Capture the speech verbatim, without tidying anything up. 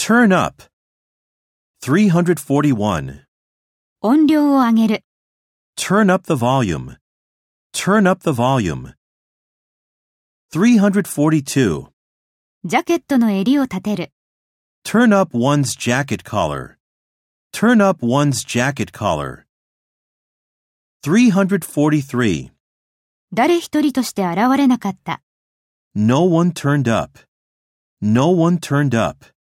Turn up. three hundred forty-one. 音量を上げる。 Turn up the volume. Turn up the volume. three hundred forty-two. ジャケットの襟を立てる。 Turn up one's jacket collar. Turn up one's jacket collar. three hundred forty-three. 誰一人として現れなかった。 No one turned up. No one turned up.